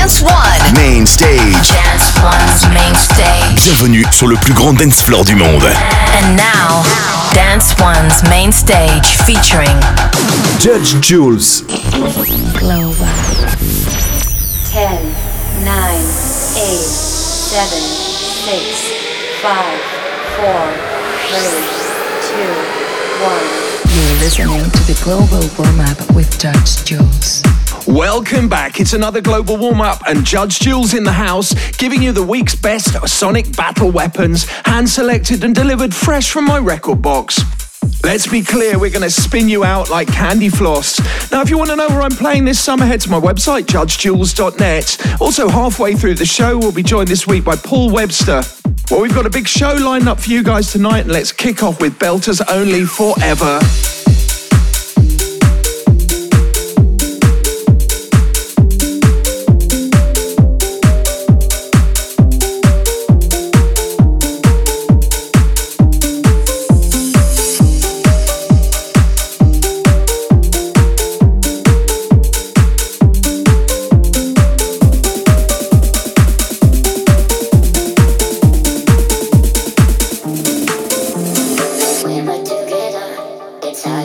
Dance One. Main Stage. Dance One's main stage. Bienvenue sur le plus grand dance floor du monde. And now, Dance One's main stage featuring Judge Jules. Global. 10, 9, 8, 7, 6, 5, 4, 3, 2, 1. You're listening to the Global Warm-Up with Judge Jules. Welcome back. It's another Global Warm-Up and Judge Jules in the house, giving you the week's best sonic battle weapons, hand-selected and delivered fresh from my record box. Let's be clear, we're going to spin you out like candy floss. Now, if you want to know where I'm playing this summer, head to my website, judgejules.net. Also, halfway through the show, we'll be joined this week by Paul Webster. Well, we've got a big show lined up for you guys tonight, and let's kick off with Belters Only Forever. It's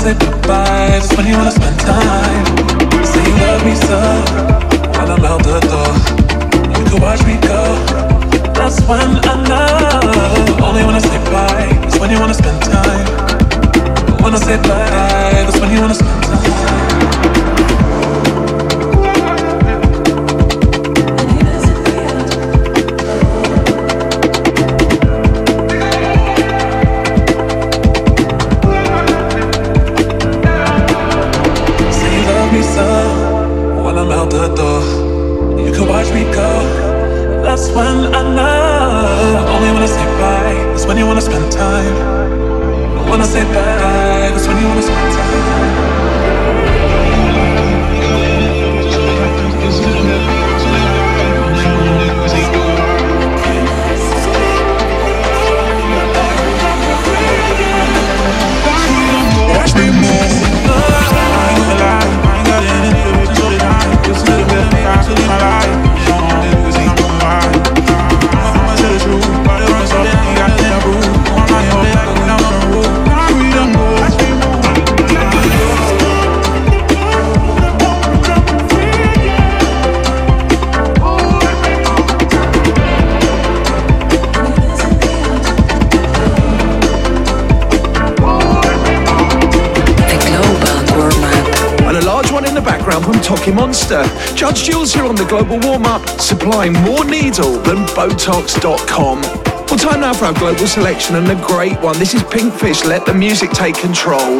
say goodbye, just when you wanna spend time. Say you love me so, while I'm out the door. You can watch me go, that's when I know. Only when I say bye, that's when you wanna spend time. When I say bye, that's when you wanna spend time. That's when I know. Only when I say bye, that's when you wanna spend time. When I say bye, that's when you wanna spend time. Watch me move. I ain't gonna lie, I ain't got any to the time. Just a little bit of me, I should live my life. From Toki Monster. Judge Jules here on the Global Warm-Up, supplying more needle than Botox.com. Well, time now for our global selection and a great one. This is Pinkfish, Let the Music Take Control.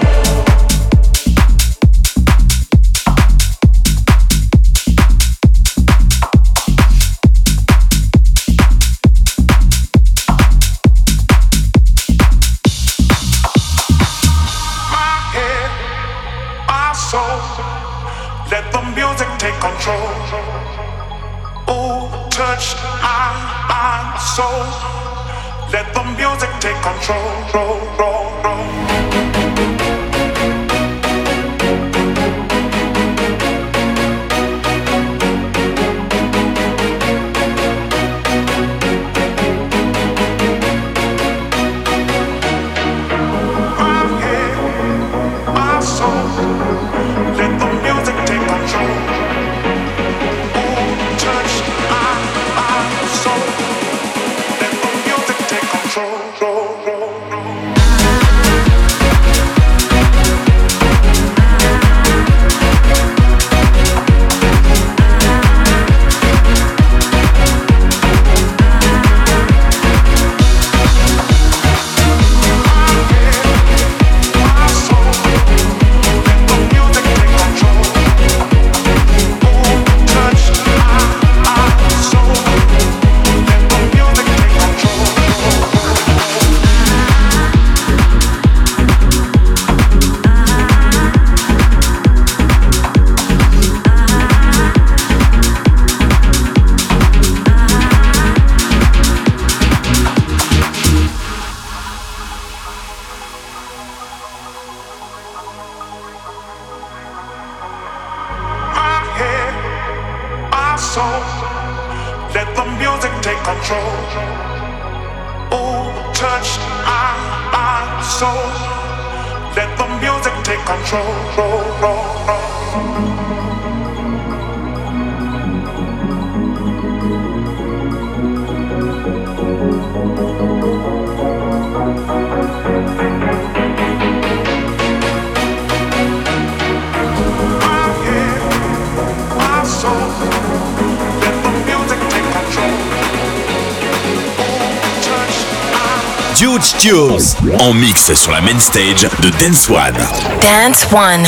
Judge Jules en mix sur la main stage de Dance One. Dance One.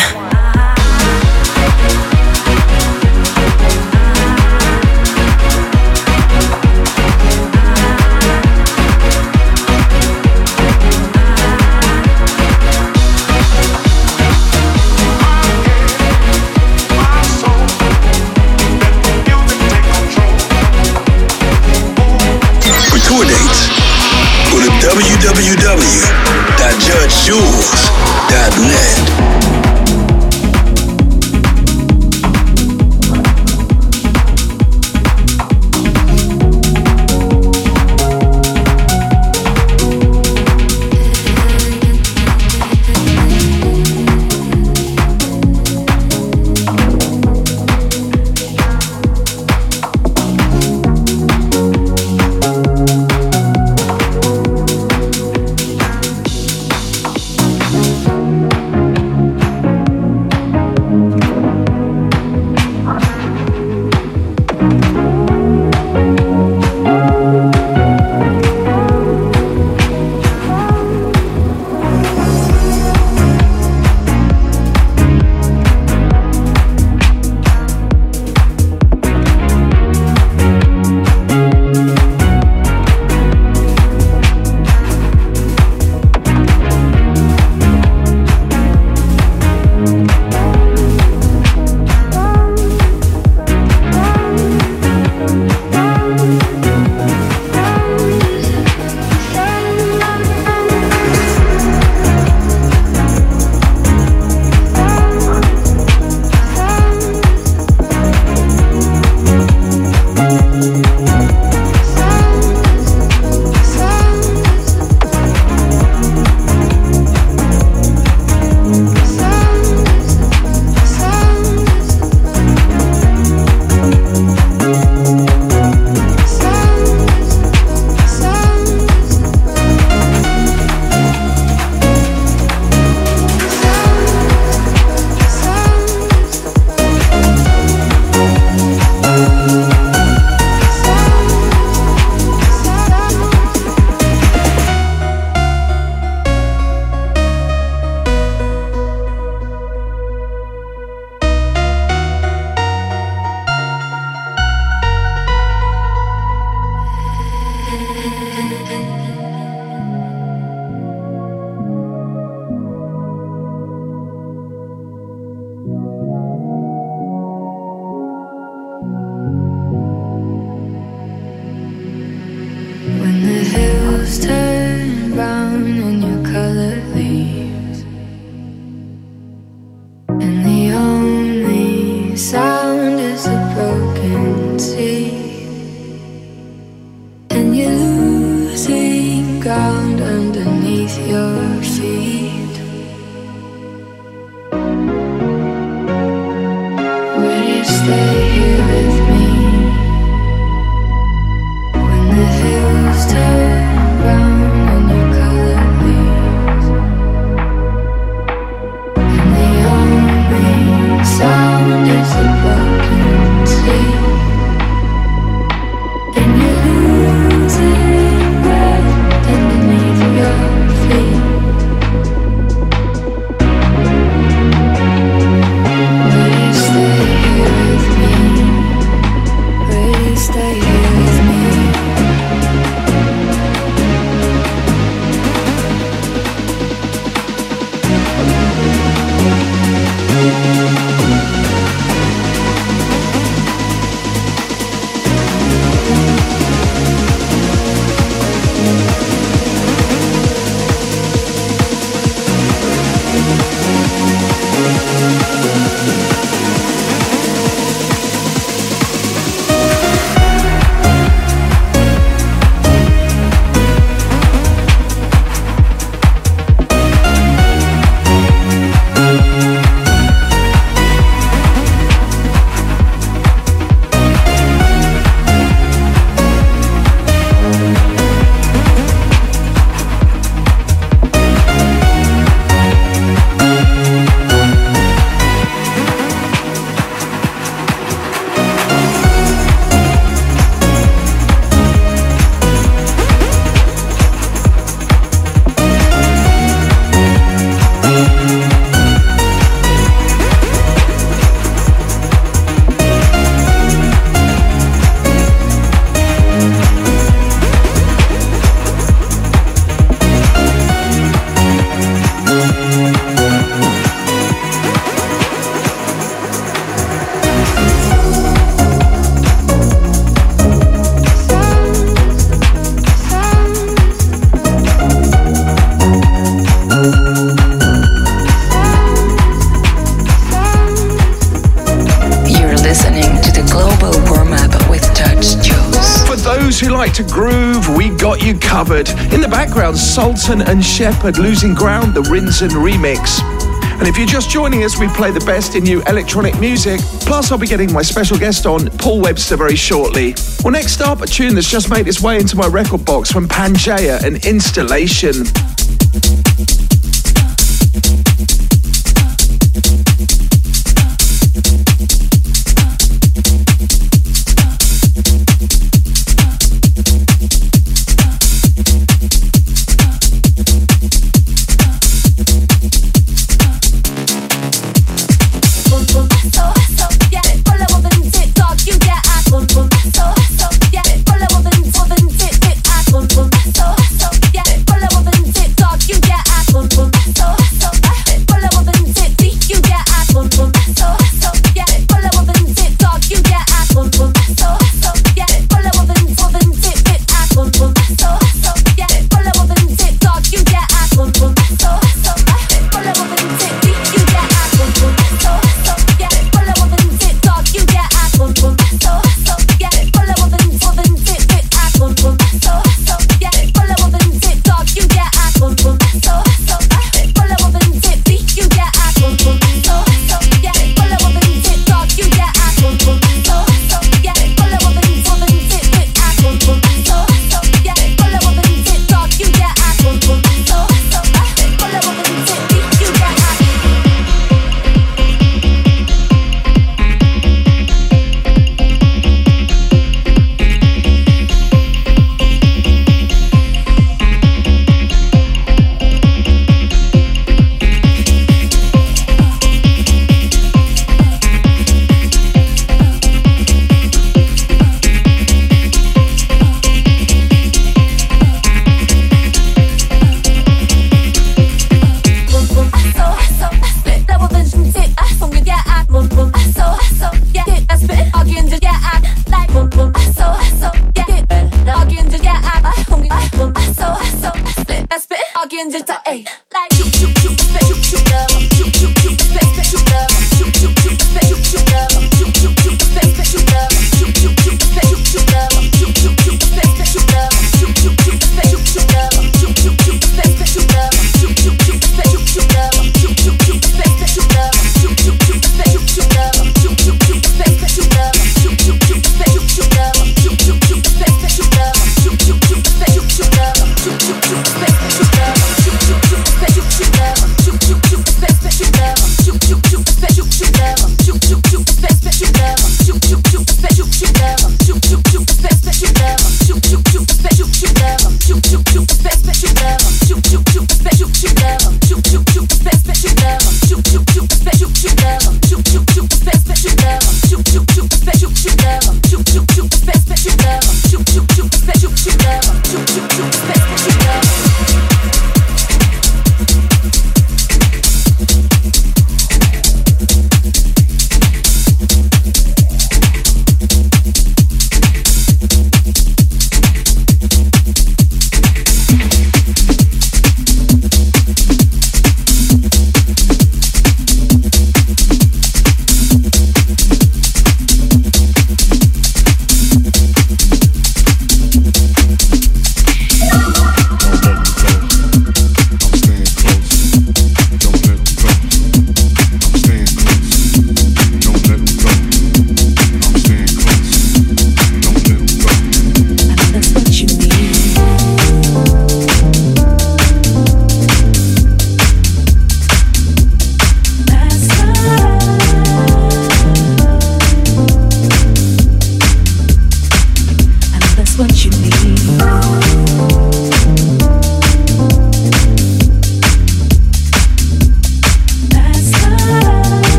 www.judgejules.net. those who like to groove, we got you covered. In the background, Sultan and Shepherd, Losing Ground, the Rinsen remix. And if you're just joining us, we play the best in new electronic music. Plus, I'll be getting my special guest on, Paul Webster, very shortly. Well, next up, a tune that's just made its way into my record box from Pangea and Installation.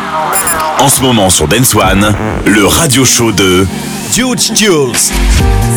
En ce moment sur Dance One, le radio show de Judge Jules.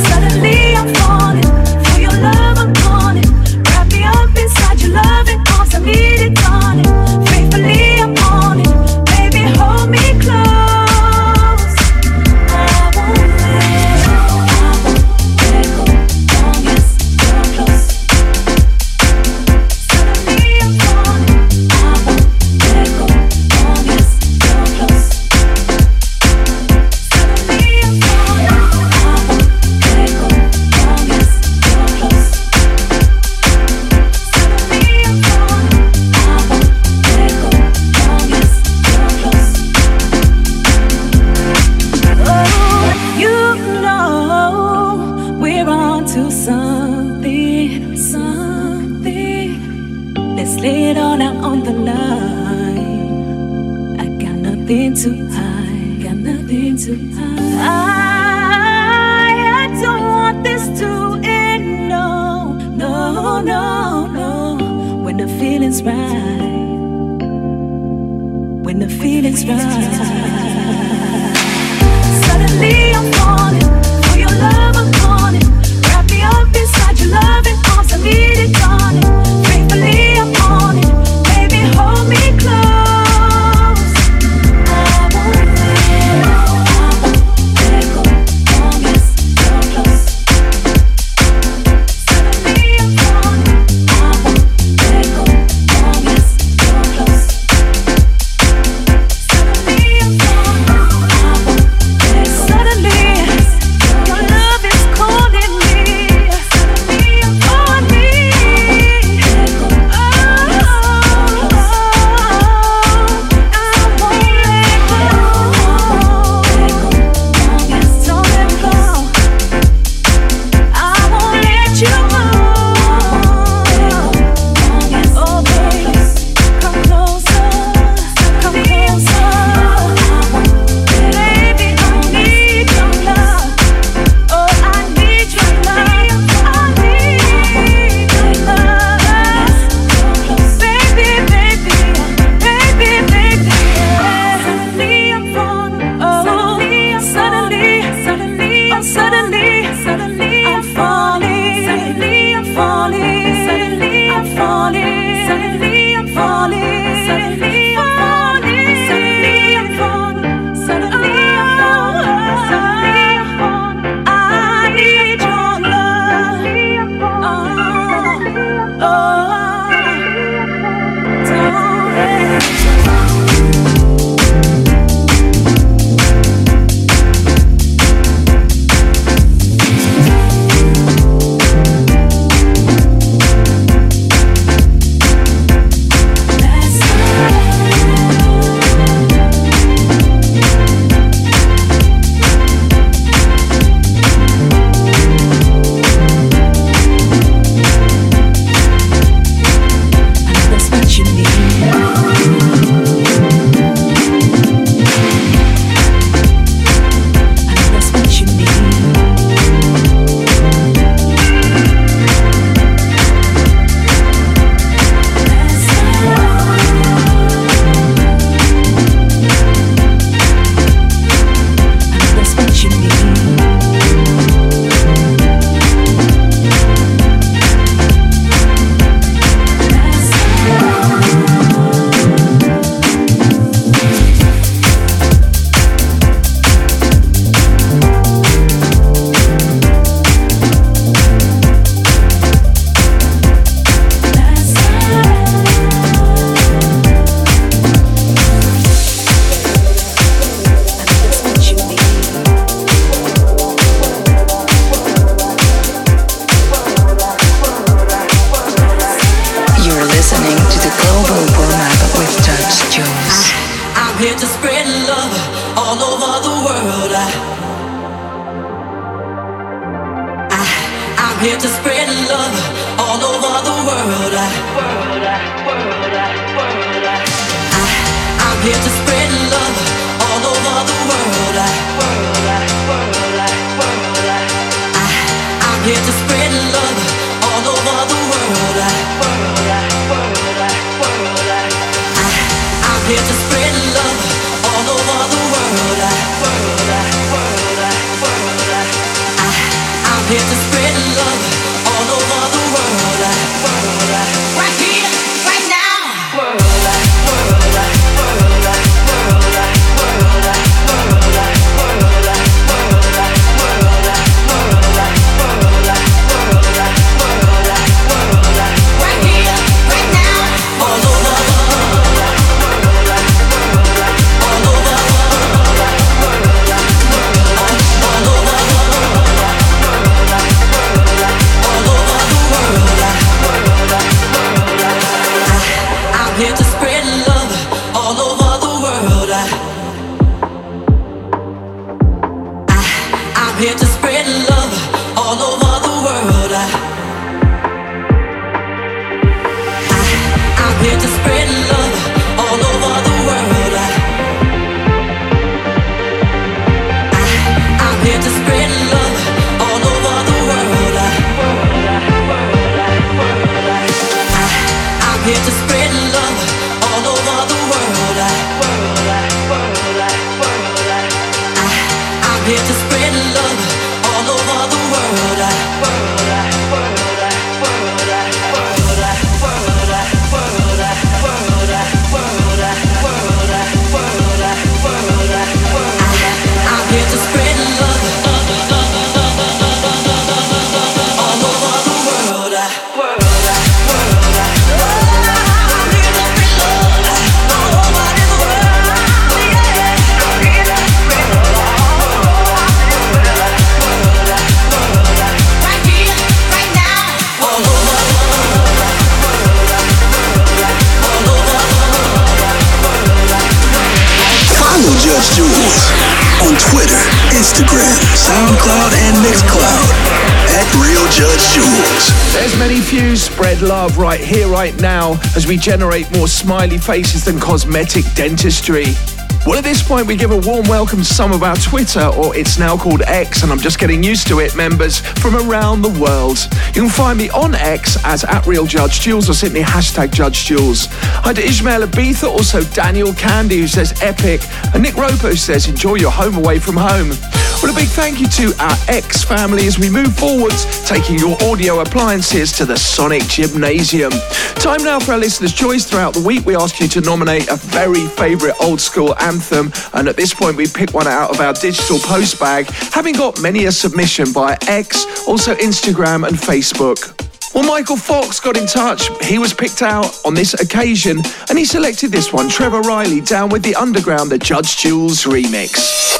Instagram, SoundCloud, and Mixcloud at Real Judge Jules. There's many views, spread love right here, right now, as we generate more smiley faces than cosmetic dentistry. Well, at this point, we give a warm welcome to some of our Twitter, or it's now called X, and I'm just getting used to it, members from around the world. You can find me on X as @RealJudgeJules or simply #JudgeJules. Hi to Ishmael Abitha, also Daniel Candy, who says epic, and Nick Roper, who says enjoy your home away from home. Well, a big thank you to our X family as we move forwards, taking your audio appliances to the Sonic Gymnasium. Time now for our listeners' choice. Throughout the week, we ask you to nominate a very favourite old school anthem, and at this point, we pick one out of our digital post bag, having got many a submission via X, also Instagram and Facebook. Well, Michael Fox got in touch. He was picked out on this occasion, and he selected this one, Trevor Riley, Down with the Underground, the Judge Jules remix.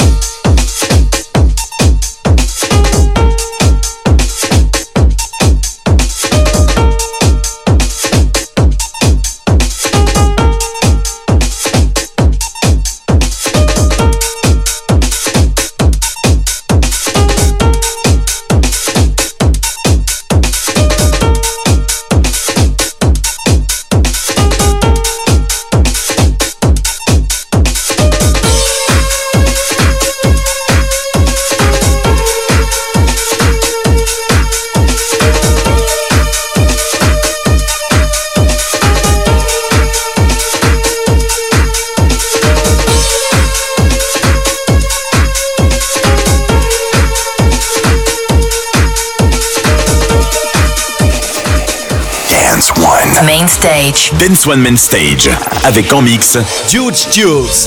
Main Stage. Dance One Main Stage. Avec en mix Judge Jules.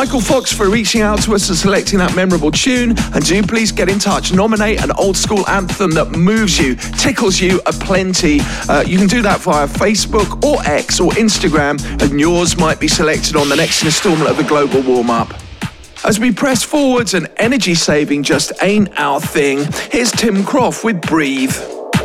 Michael Fox for reaching out to us and selecting that memorable tune. And do please get in touch. Nominate an old school anthem that moves you, tickles you aplenty. You can do that via Facebook or X or Instagram, and yours might be selected on the next instalment of the Global Warm-Up. As we press forwards and energy saving just ain't our thing, here's Tim Croft with Breathe.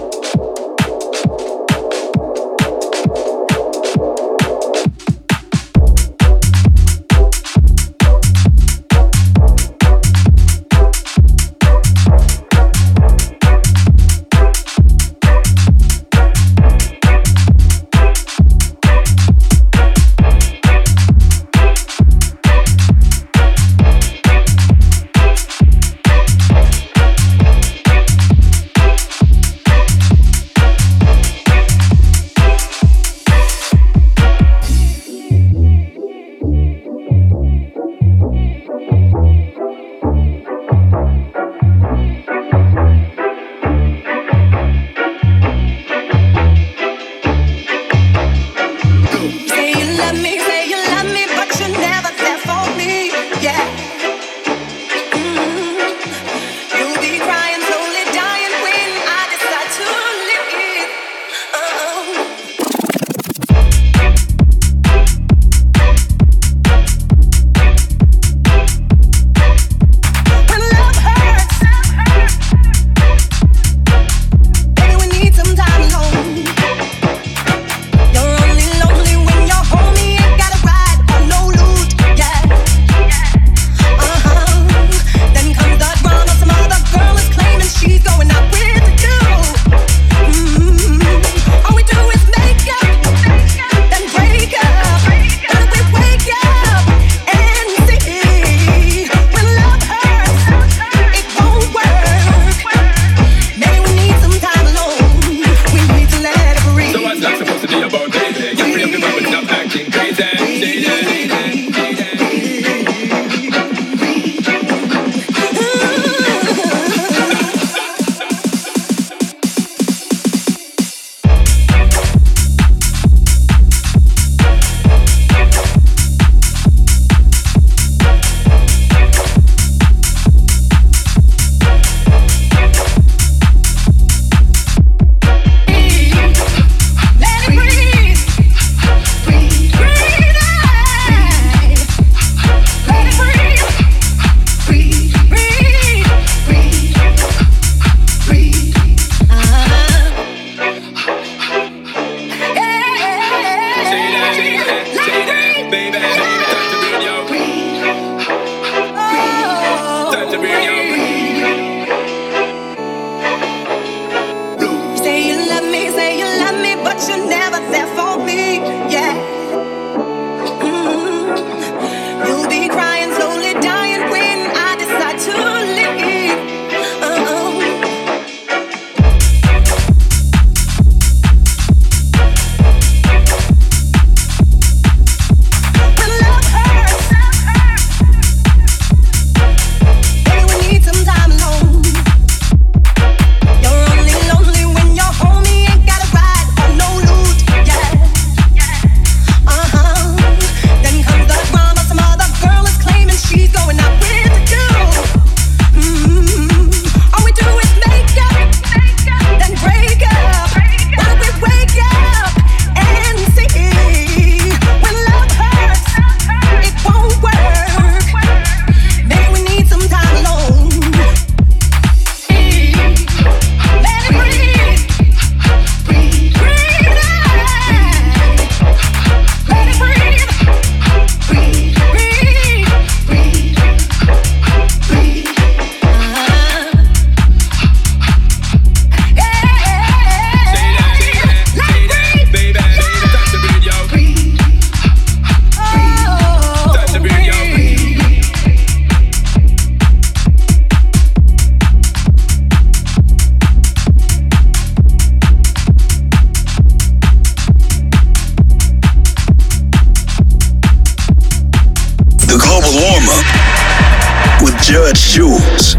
Judge Jules.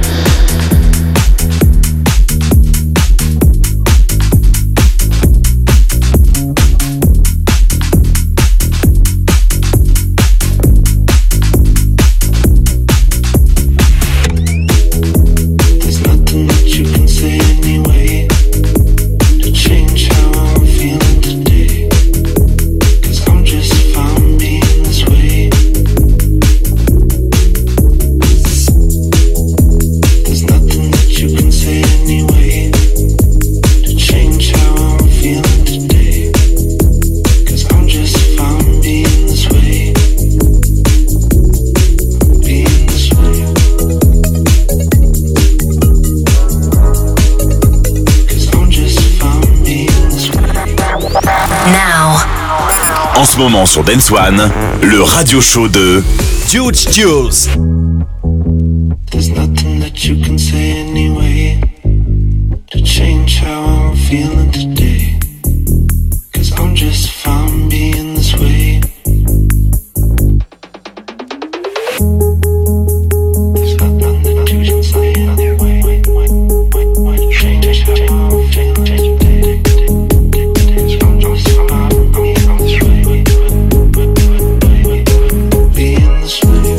moment sur Dance One, le radio show de Judge Jules. There's nothing that you can say anyway to change how I'm feeling today. 'Cause I'm just fine being this way. There's nothing that you can say anyway to change how I'm feeling today. 'Cause I'm just fine being this way. Being this way.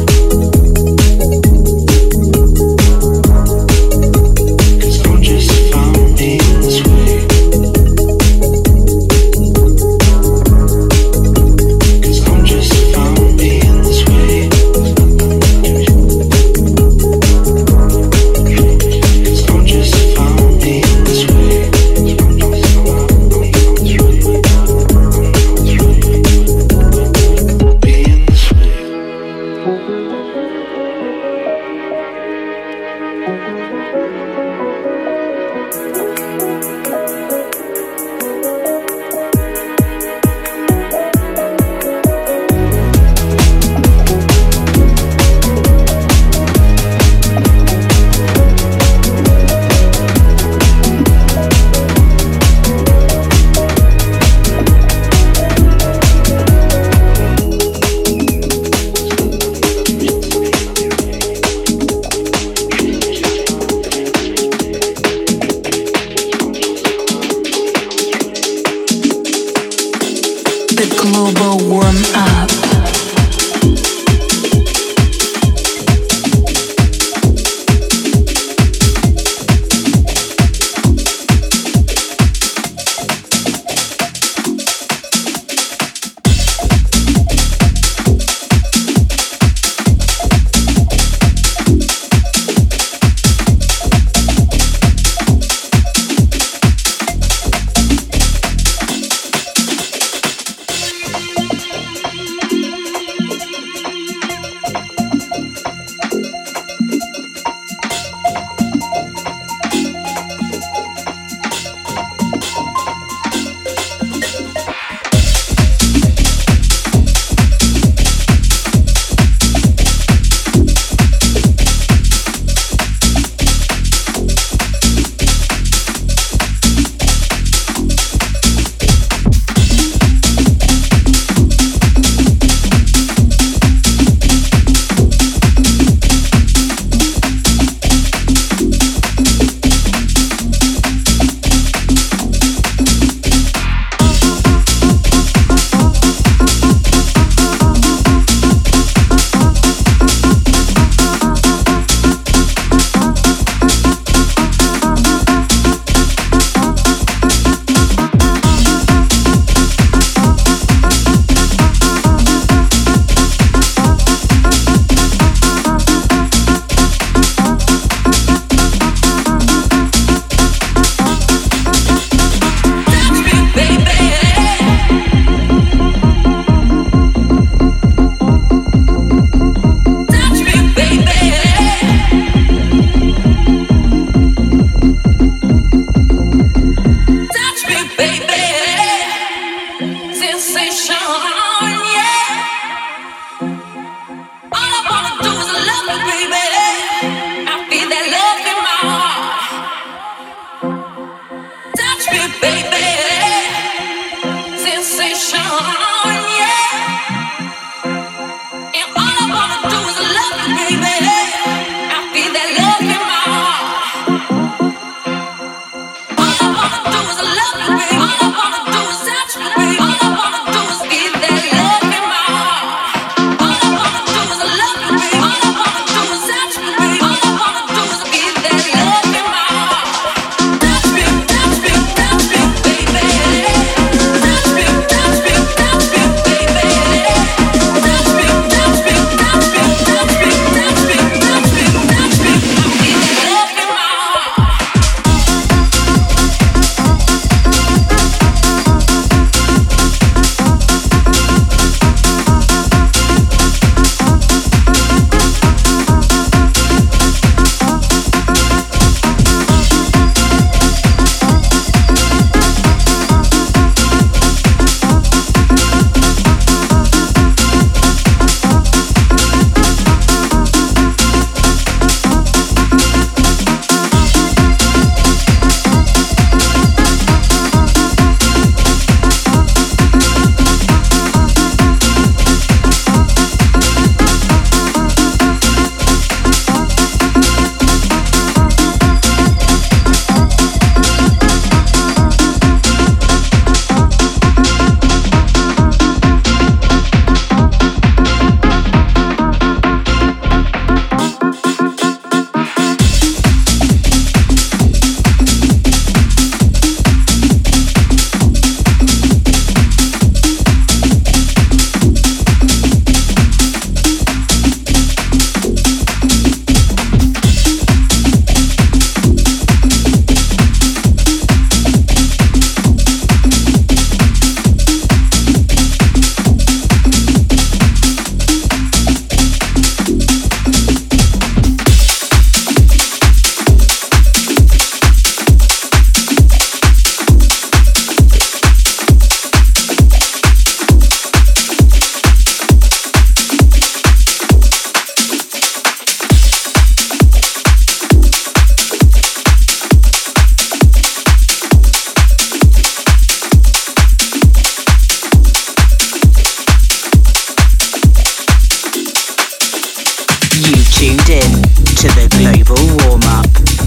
to the global warm-up.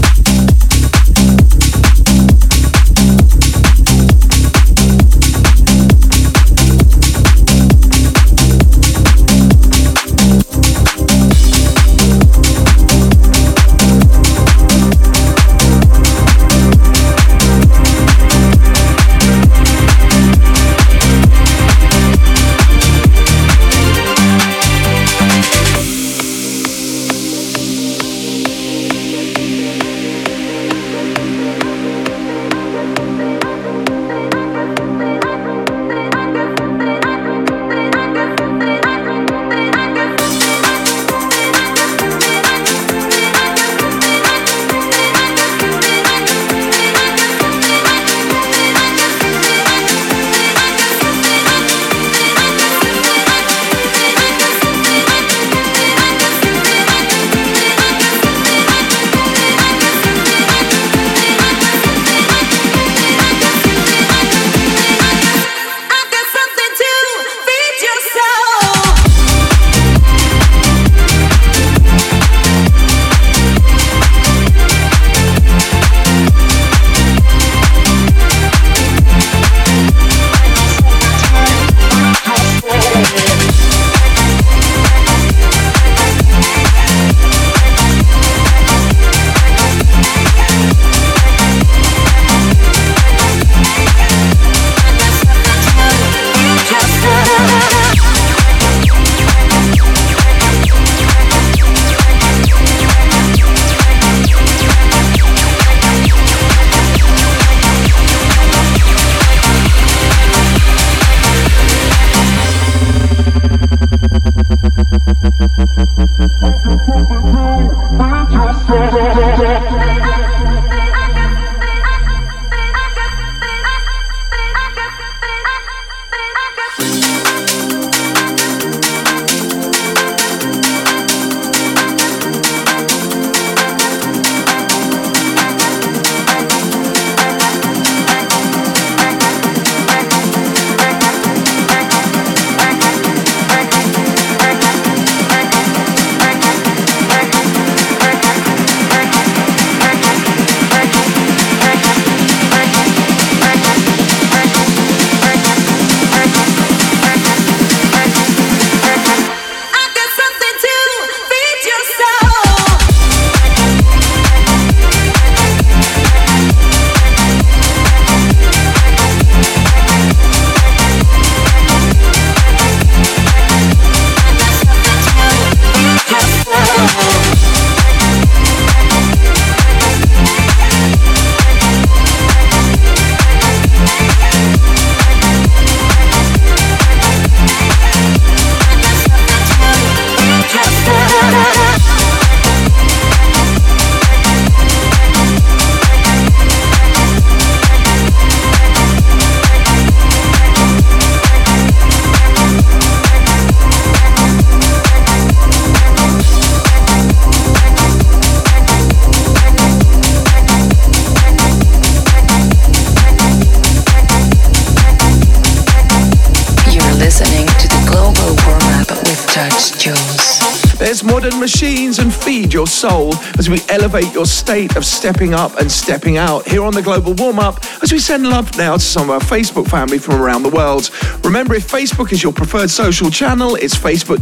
Modern machines and feed your soul as we elevate your state of stepping up and stepping out here on the Global Warm-Up as we send love now to some of our Facebook family from around the world. Remember, if Facebook is your preferred social channel, it's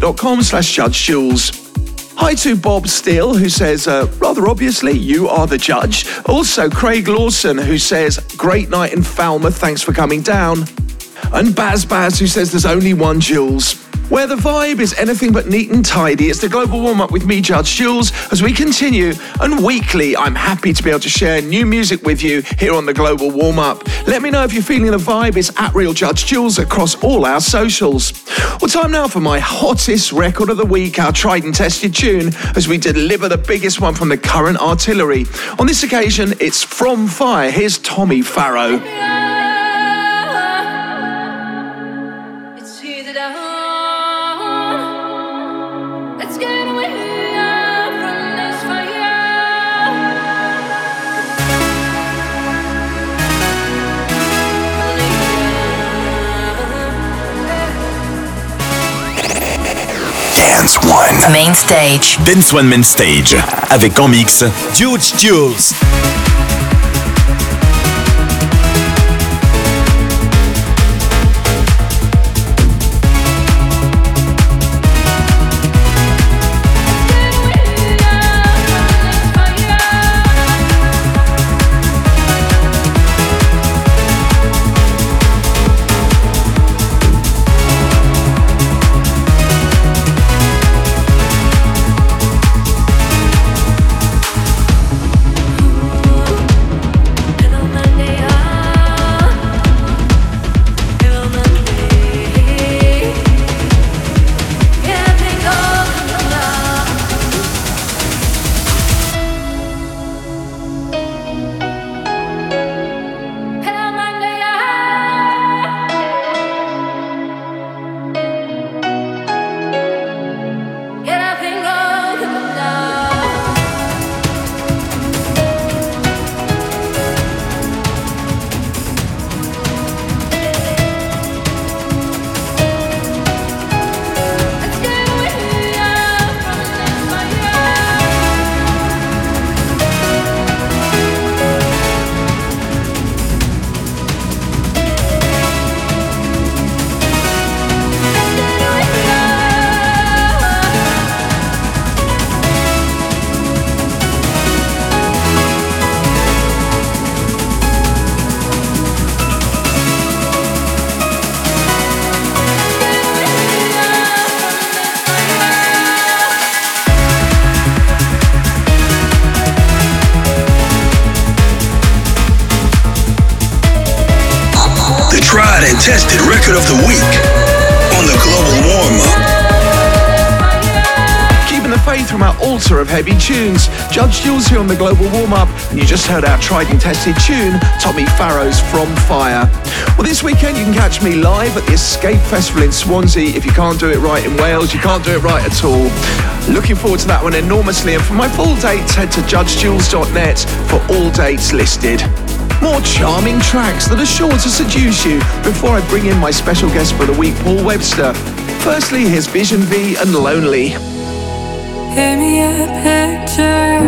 facebook.com/JudgeJules. Hi to Bob Steele, who says, rather obviously, you are the judge. Also, Craig Lawson, who says, great night in Falmouth, thanks for coming down. And Baz, who says, there's only one Jules. Where the vibe is anything but neat and tidy, it's the Global Warm-Up with me, Judge Jules, as we continue. And weekly, I'm happy to be able to share new music with you here on the Global Warm-Up. Let me know if you're feeling the vibe. It's at Real Judge Jules across all our socials. Well, time now for my hottest record of the week, our tried and tested tune, as we deliver the biggest one from the current artillery. On this occasion, it's From Fire. Here's Tommy Farrow. Dance One. Main Stage. Dance One Main Stage. Avec en mix Huge Jules. Tried and tested record of the week on the Global Warm-Up. Keeping the faith from our altar of heavy tunes, Judge Jules here on the Global Warm-Up, and you just heard our tried and tested tune, Tommy Farrow's From Fire. Well, this weekend you can catch me live at the Escape Festival in Swansea. If you can't do it right in Wales, you can't do it right at all. Looking forward to that one enormously, and for my full dates, head to judgejules.net for all dates listed. More charming tracks that are sure to seduce you before I bring in my special guest for the week, Paul Webster. Firstly, here's Vision V and Lonely. Give me a picture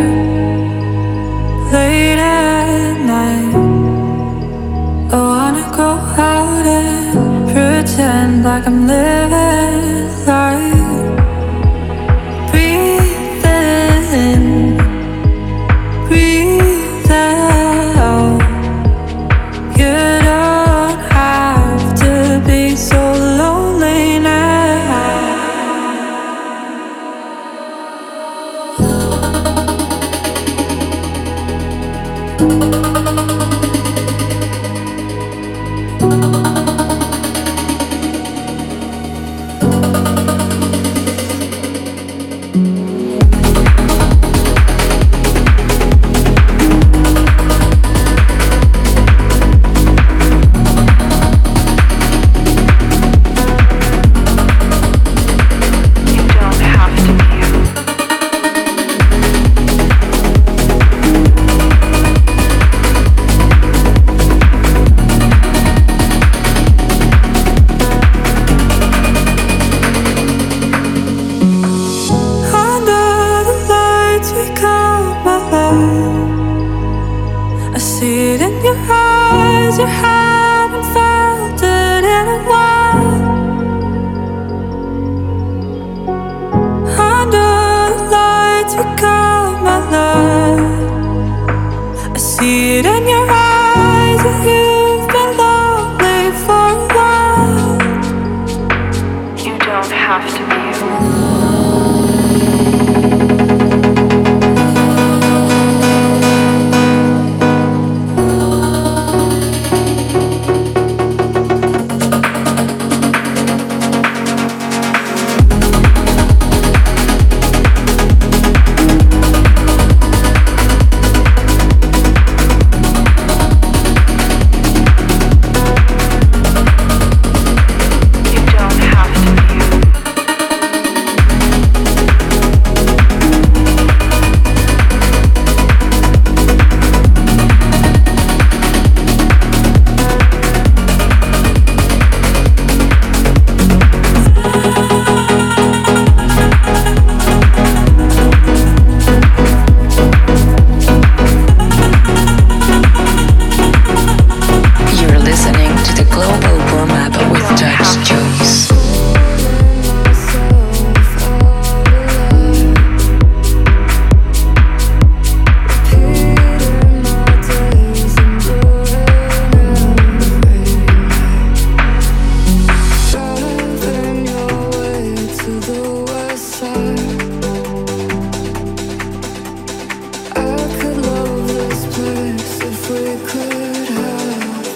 late at night. I wanna go out and pretend like I'm living life. Breathe in, breathe out. You don't have to be so lonely now. could have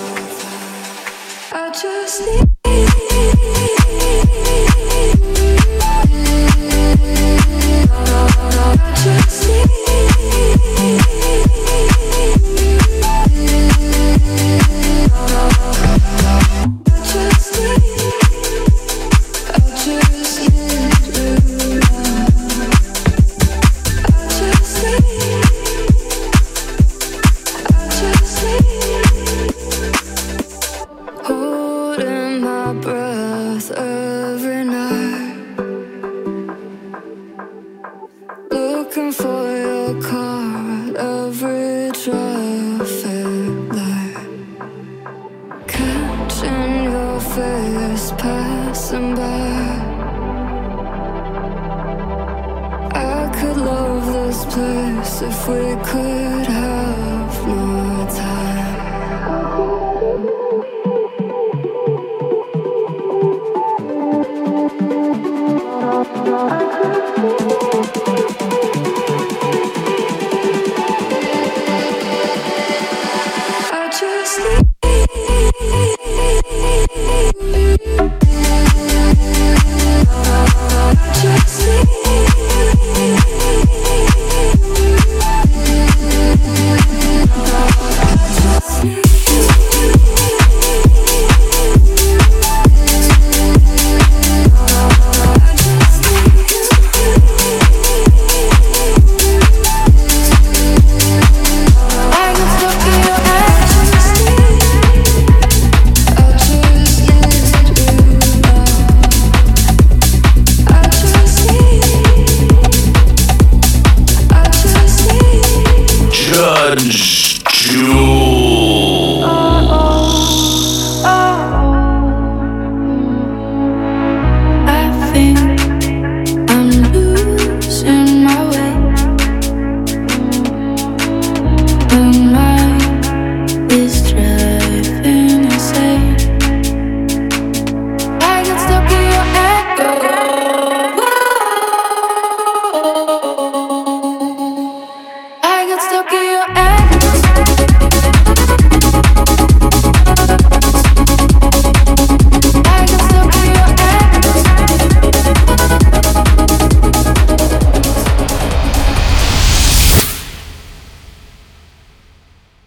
I just need if we could have